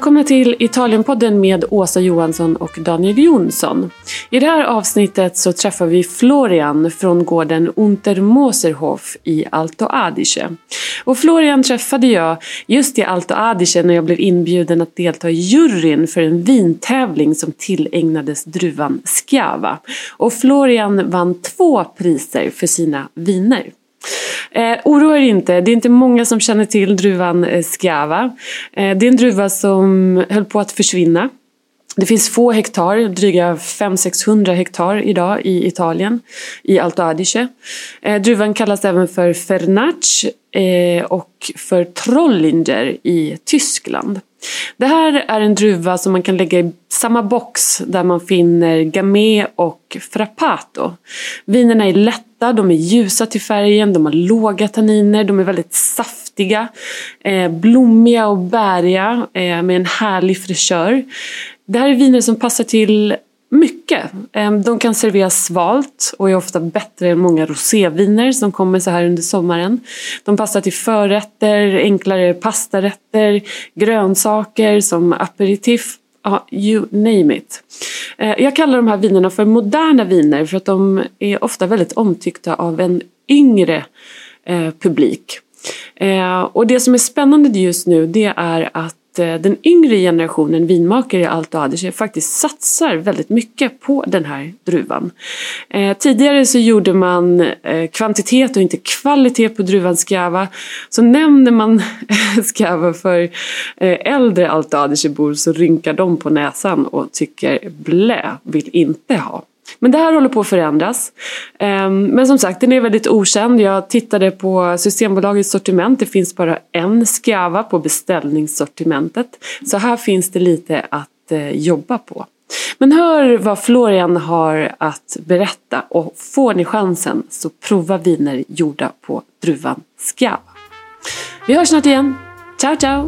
Välkomna till Italienpodden med Åsa Johansson och Daniel Jonsson. I det här avsnittet så träffar vi Florian från gården Untermoserhof i Alto Adige. Och Florian träffade jag just i Alto Adige när jag blev inbjuden att delta i juryn för en vintävling som tillägnades druvan Schiava. Och Florian vann 2 priser för sina viner. Oroa er inte, det är inte många som känner till druvan Schiava. Det är en druva som höll på att försvinna. Det finns få hektar, dryga 500-600 hektar idag i Italien, i Alto Adige. Druvan kallas även för Fernac och för Trollinger i Tyskland. Det här är en druva som man kan lägga i samma box där man finner Gamay och Frappato. Vinerna är lätta, de är ljusa till färgen, de har låga tanniner, de är väldigt saftiga, blommiga och bäriga med en härlig fräschör. Det här är viner som passar till mycket. De kan serveras svalt och är ofta bättre än många roséviner som kommer så här under sommaren. De passar till förrätter, enklare pastarätter, grönsaker som aperitif. You name it. Jag kallar de här vinerna för moderna viner för att de är ofta väldigt omtyckta av en yngre publik. Och det som är spännande just nu, det är att den yngre generationen vinmakare i Alto Adige faktiskt satsar väldigt mycket på den här druvan. Tidigare så gjorde man kvantitet och inte kvalitet på druvan Schiava. Så nämner man Schiava för äldre Alto Adige-bor så rynkar de på näsan och tycker vill inte ha. Men det här håller på att förändras. Men som sagt, den är väldigt okänd. Jag tittade på Systembolagets sortiment. Det finns bara en Schiava på beställningssortimentet. Så här finns det lite att jobba på. Men hör vad Florian har att berätta. Och får ni chansen så prova viner gjorda på druvan Schiava. Vi hörs snart igen. Ciao, ciao!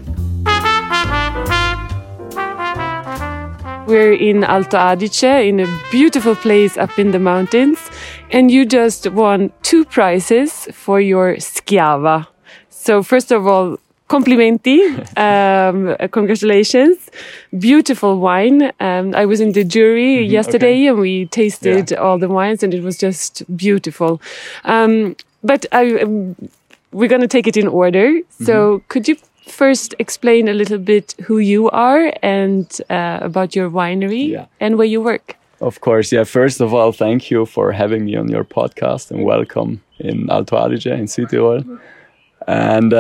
We're in Alto Adige, in a beautiful place up in the mountains, and you just won 2 prizes for your Schiava. So first of all, complimenti, congratulations, beautiful wine. I was in the jury yesterday and we tasted all the wines and it was just beautiful. But we're going to take it in order. So could you first explain a little bit who you are and about your winery and where you work? Of course, yeah. First of all, thank you for having me on your podcast and welcome in Alto Adige in Südtirol. And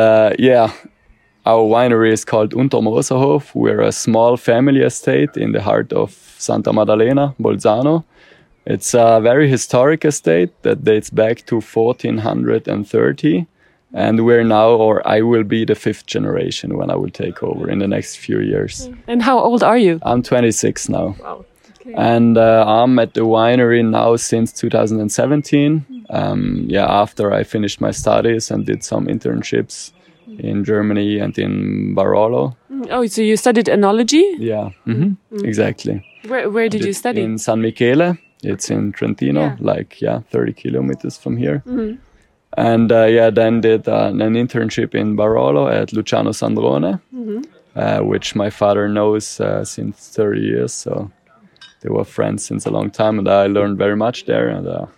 our winery is called Untermoserhof. We're a small family estate in the heart of Santa Maddalena, Bolzano. It's a very historic estate that dates back to 1430. And we're now, or I will be the 5th generation when I will take over in the next few years. And how old are you? I'm 26 now. Wow. Okay. And I'm at the winery now since 2017. After I finished my studies and did some internships in Germany and in Barolo. Oh, so you studied enology? Yeah, exactly. Where did you study? In San Michele. It's in Trentino, 30 kilometers from here. Mm-hmm. And then did an internship in Barolo at Luciano Sandrone, which my father knows since 30 years. So they were friends since a long time, and I learned very much there.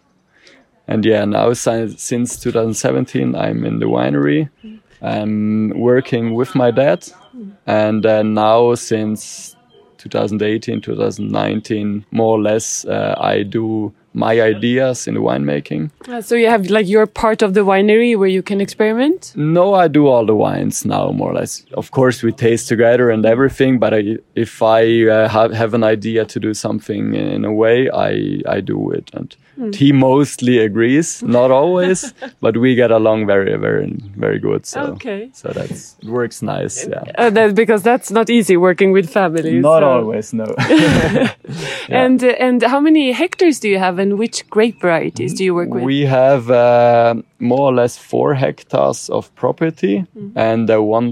Now since 2017, I'm in the winery. I'm working with my dad, and now since 2018, 2019, more or less, I do my ideas in the winemaking. So you have you're part of the winery where you can experiment? No, I do all the wines now, more or less. Of course, we taste together and everything, but if I have an idea to do something in a way, I do it. And he mostly agrees, not always, but we get along very, very, very good. So, so it works nice, yeah. Because that's not easy working with families. Not always, no. And how many hectares do you have? And which grape varieties do you work with? We have more or less 4 hectares of property and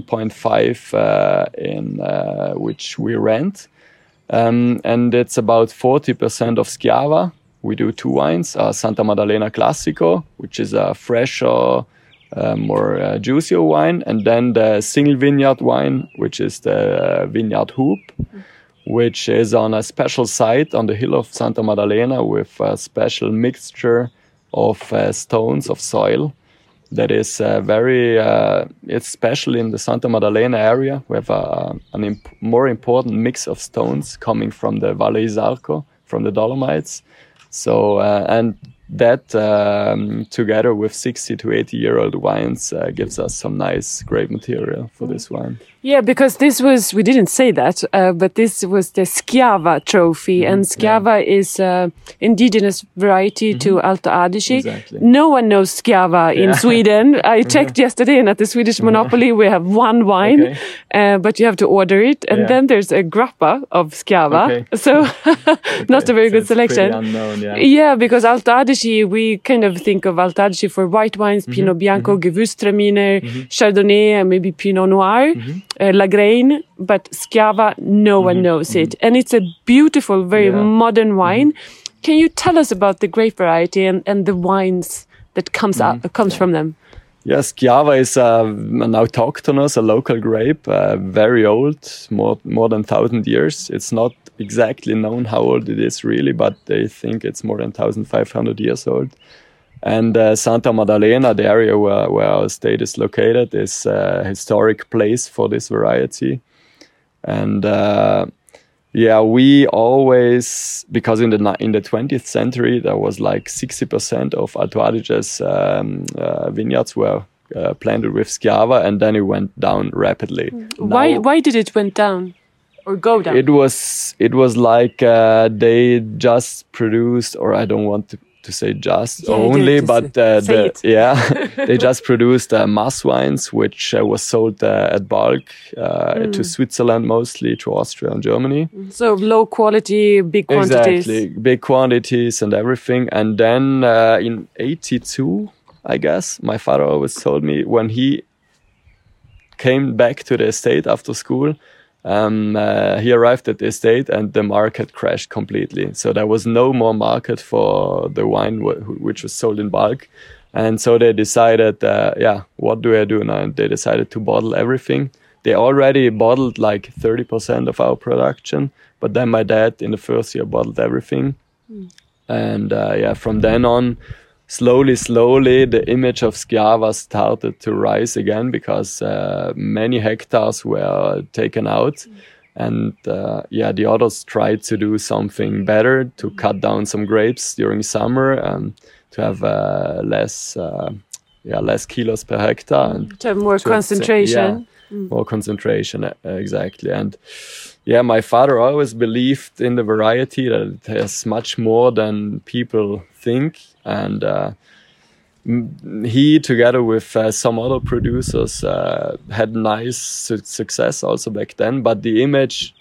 1.5 in which we rent. And it's about 40% of Schiava. We do 2 wines, Santa Maddalena Classico, which is a fresher, more juicier wine, and then the single vineyard wine, which which is the Vineyard Hoop, which is on a special site on the hill of Santa Maddalena with a special mixture of stones, of soil. That is it's special in the Santa Maddalena area. We have a more important mix of stones coming from the Valle Isarco, from the Dolomites. So, and that together with 60 to 80-year-old wines gives us some nice grape material for this wine. Yeah, because we didn't say that, but this was the Schiava trophy, and Schiava is indigenous variety to Alto Adige. Exactly. No one knows Schiava in Sweden. I checked yesterday, and at the Swedish Monopoly we have one wine, but you have to order it, and then there's a grappa of Schiava, so not a very good selection. Pretty unknown, yeah, because Alto Adige, we kind of think of Alto Adige for white wines, Pinot Bianco, Gewürztraminer, Chardonnay, and maybe Pinot Noir. Lagrein, but Schiava, no one knows it. And it's a beautiful, very modern wine. Can you tell us about the grape variety and the wines that comes from them? Yes, Schiava is an autochthonous, a local grape, very old, more than 1,000 years. It's not exactly known how old it is really, but they think it's more than 1,500 years old. And Santa Maddalena, the area where our estate is located, is a historic place for this variety. And we always, because in the 20th century, there was like 60% of Alto Adige's vineyards were planted with Schiava, and then it went down rapidly. Why did it went down? Or go down? It was like they just produced, or I don't want to say just only, but they just produced mass wines, which was sold at bulk to Switzerland mostly, to Austria and Germany. So low quality, big quantities. Exactly, big quantities and everything. And then in 82, I guess, my father always told me when he came back to the estate after school, he arrived at the estate and the market crashed completely. So there was no more market for the wine which was sold in bulk. And so they decided, what do I do now? And they decided to bottle everything. They already bottled like 30% of our production. But then my dad in the first year bottled everything. And from then on, slowly, the image of Schiava started to rise again because many hectares were taken out. And the others tried to do something better, to cut down some grapes during summer and to have less kilos per hectare. And to have more concentration. More concentration, exactly. And my father always believed in the variety, that it has much more than people think. And he, together with some other producers, had nice success also back then. But the image,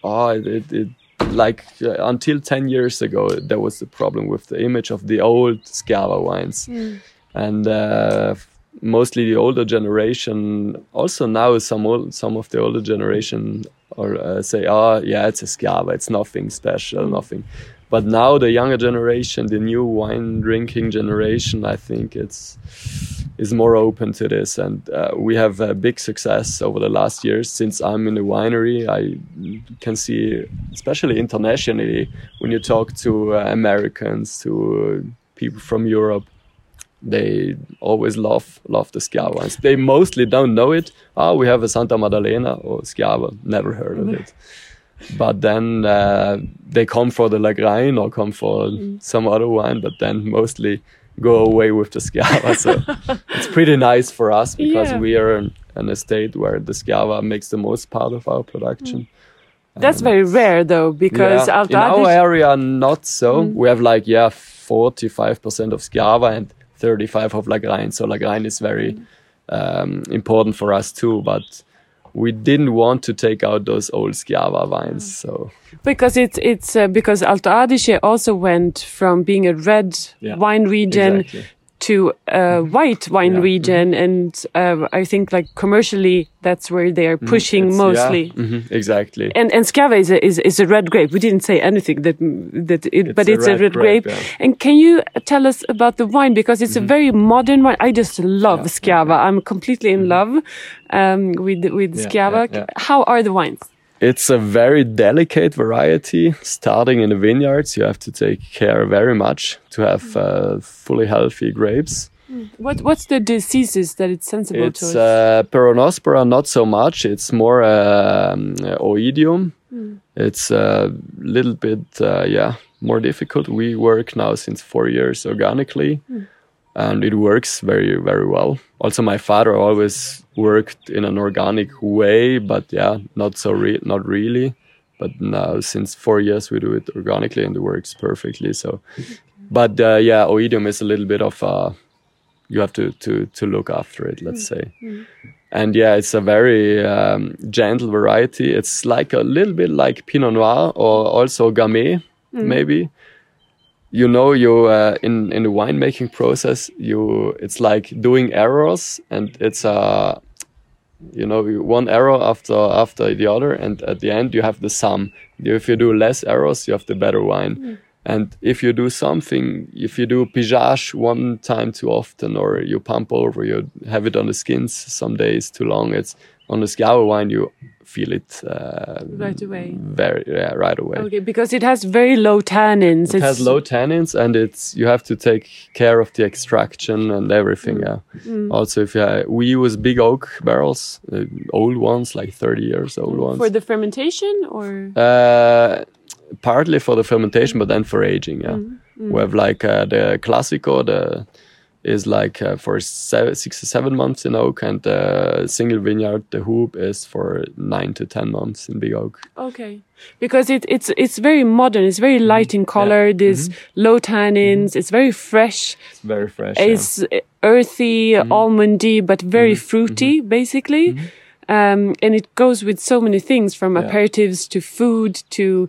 until 10 years ago, there was the problem with the image of the old Schiava wines. And mostly the older generation, also now some of the older generation say, it's a Schiava, it's nothing special, nothing. But now the younger generation, the new wine drinking generation, I think is more open to this. And we have a big success over the last years. Since I'm in the winery, I can see, especially internationally, when you talk to Americans, to people from Europe, they always love the Schiava wines. They mostly don't know it. We have a Santa Maddalena or Schiava, never heard of it. But then they come for the Lagrein or come for some other wine, but then mostly go away with the Schiava. So it's pretty nice for us because we are an estate where the Schiava makes the most part of our production. That's very rare though, because in our area, not so. We have 45% of Schiava and 35% of Lagrein. So Lagrein is very important for us too, but we didn't want to take out those old Schiava wines. So because it's because Alto Adige also went from being a red wine region to white wine region, and I think like commercially that's where they are pushing mostly. Exactly. And Schiava is a red grape. We didn't say anything but it's a red grape. Yeah. And can you tell us about the wine, because it's a very modern wine? I just love Schiava. I'm completely in love with Schiava. Yeah. How are the wines? It's a very delicate variety. Starting in the vineyards, you have to take care very much to have fully healthy grapes. What's the diseases that it's sensible to? It's Peronospora, not so much. It's more Oidium. It's a little bit more difficult. We work now since 4 years organically, and it works very, very well. Also, my father always worked in an organic way, but not really. But now, since 4 years, we do it organically, and it works perfectly. So, but Oidium is a little bit of you have to look after it, let's say. And it's a very gentle variety. It's like a little bit like Pinot Noir or also Gamay, maybe. You know, in the winemaking process, it's like doing errors, and it's one error after the other, and at the end you have the sum. If you do less errors, you have the better wine. And if you do pigeage one time too often, or you pump over, you have it on the skins some days too long, it's on the Schiava wine, you feel it right away. Right away. Okay, because it has very low tannins. It has low tannins, and you have to take care of the extraction and everything. Also, we use big oak barrels, old ones, like 30 years old ones. For the fermentation, or? Partly for the fermentation, but then for aging. We have like the Classico, is like for 6 to 7 months in oak, and the single vineyard, the Hoop, is for 9 to 10 months in big oak. Okay, because it's very modern. It's very light in color. There's low tannins. It's very fresh. It's very fresh. It's earthy, almondy, but very fruity, basically. And it goes with so many things, from aperitifs to food to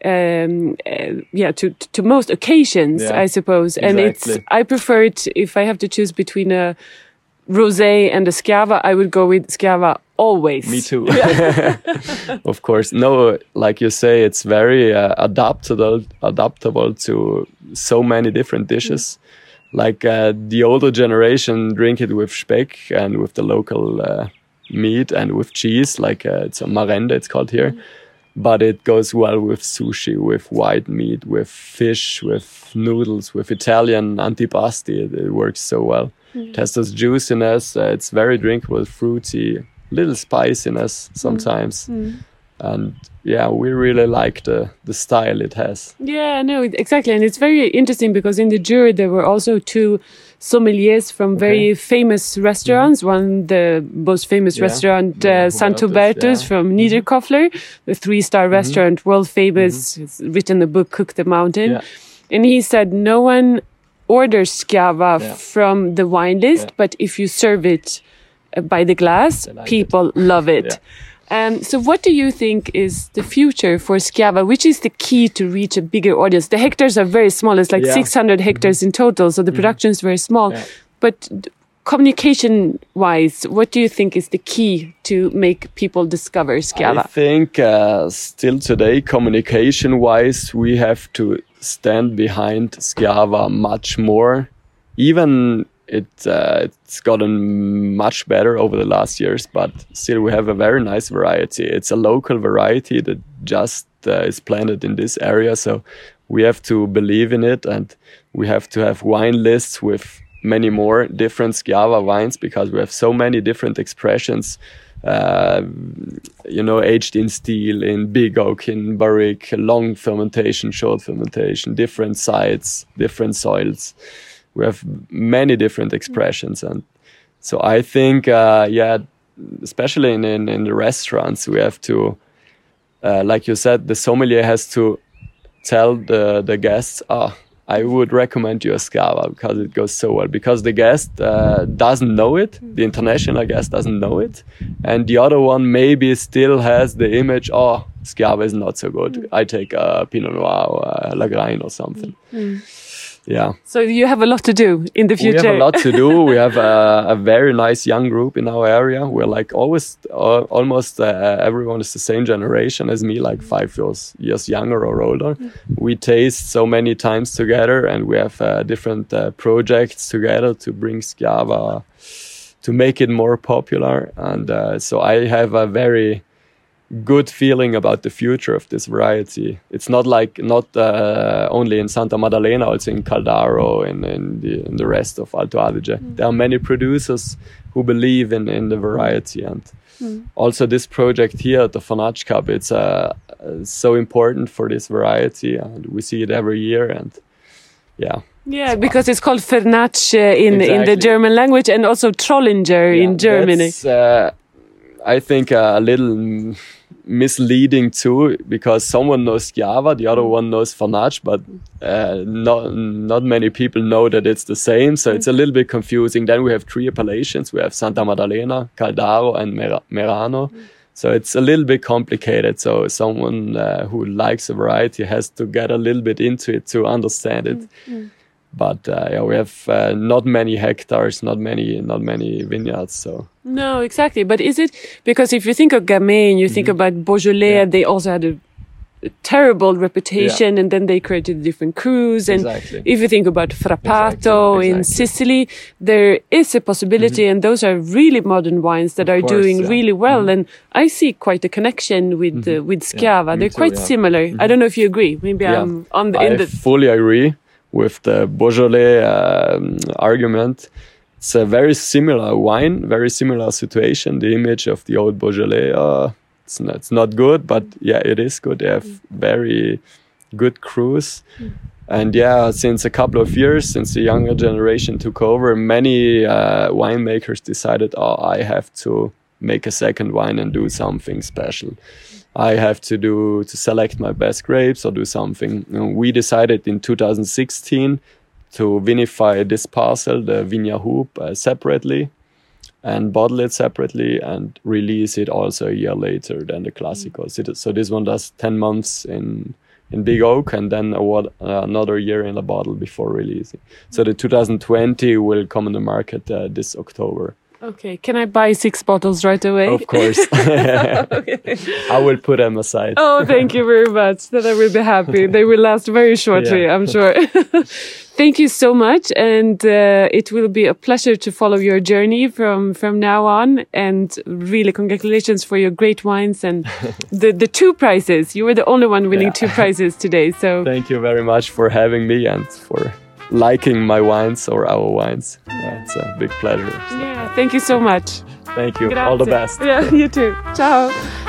most occasions, I suppose. Exactly. And I prefer it, if I have to choose between a rosé and a Schiava, I would go with Schiava always. Me too. Of course. No, like you say, it's very adaptable to so many different dishes. Like the older generation drink it with Speck and with the local meat and with cheese, like it's a Marende, it's called here. But it goes well with sushi, with white meat, with fish, with noodles, with Italian antipasti. It works so well. It has this juiciness. It's very drinkable, fruity, little spiciness sometimes. And we really like the style it has. Yeah, no, exactly. And it's very interesting because in the jury there were also 2 sommeliers from very famous restaurants. One, the most famous restaurant, Sant Hubertus from Niederkoffler, the 3-star restaurant, world famous. He's written the book Cook the Mountain. And he said no one orders Schiava from the wine list, but if you serve it by the glass, people love it. So what do you think is the future for Schiava? Which is the key to reach a bigger audience? The hectares are very small. It's like 600 hectares in total. So the production is very small. But communication-wise, what do you think is the key to make people discover Schiava? I think still today, communication-wise, we have to stand behind Schiava much more. Even it's gotten much better over the last years, but still we have a very nice variety. It's a local variety that just is planted in this area, so we have to believe in it, and we have to have wine lists with many more different Schiava wines, because we have so many different expressions, aged in steel, in big oak, in barrique, long fermentation, short fermentation, different sites, different soils. We have many different expressions, and so I think, especially in the restaurants, we have to, like you said, the sommelier has to tell the guests, I would recommend you a Schiava because it goes so well. Because the guest doesn't know it, the international guest doesn't know it, and the other one maybe still has the image, Schiava is not so good. I take a Pinot Noir or a Lagrein or something. Yeah. So you have a lot to do in the future. We have a lot to do. We have a very nice young group in our area. We're like almost everyone is the same generation as me, like 5 years younger or older. We taste so many times together, and we have different projects together to bring Schiava, to make it more popular. And so I have a very good feeling about the future of this variety. It's not only in Santa Maddalena, also in Caldaro and in the rest of Alto Adige. There are many producers who believe in the variety, and also this project here at the Fernacci Cup, it's so important for this variety, and we see it every year. And yeah, because it's called Fernacci in the German language, and also Trollinger in Germany. That's, I think a little misleading too, because someone knows Schiava, the other one knows Fernacci, but not many people know that it's the same. So it's a little bit confusing. Then we have 3 appellations. We have Santa Maddalena, Caldaro, and Merano. So it's a little bit complicated. So someone who likes a variety has to get a little bit into it to understand it. But we have not many hectares, not many vineyards. So no, exactly. But is it because if you think of Gamay and you think about Beaujolais, they also had a terrible reputation, and then they created different crus. And if you think about Frappato in Sicily, there is a possibility, and those are really modern wines that are doing really well. And I see quite a connection with Schiava. They're quite similar. I don't know if you agree. Maybe I'm on the. I fully agree with the Beaujolais argument. It's a very similar wine, very similar situation. The image of the old Beaujolais, it's not good, but it is good. They have very good crus. And since a couple of years, since the younger generation took over, many winemakers decided, I have to make a second wine and do something special. I have to select my best grapes or do something. We decided in 2016 to vinify this parcel, the Vigna Hoop, separately, and bottle it separately and release it also a year later than the Classicos. So this one does 10 months in Big Oak, and then another year in a bottle before releasing. So the 2020 will come on the market this October. Okay, can I buy 6 bottles right away? Of course. I will put them aside. Oh, thank you very much. Then I will be happy. They will last very shortly, I'm sure. Thank you so much. And it will be a pleasure to follow your journey from now on. And really congratulations for your great wines and the 2 prizes. You were the only one winning 2 prizes today. So thank you very much for having me and for liking my wines or our wines. It's a big pleasure. Yeah, thank you so much. Thank you. Grazie. All the best. Yeah, you too. Ciao.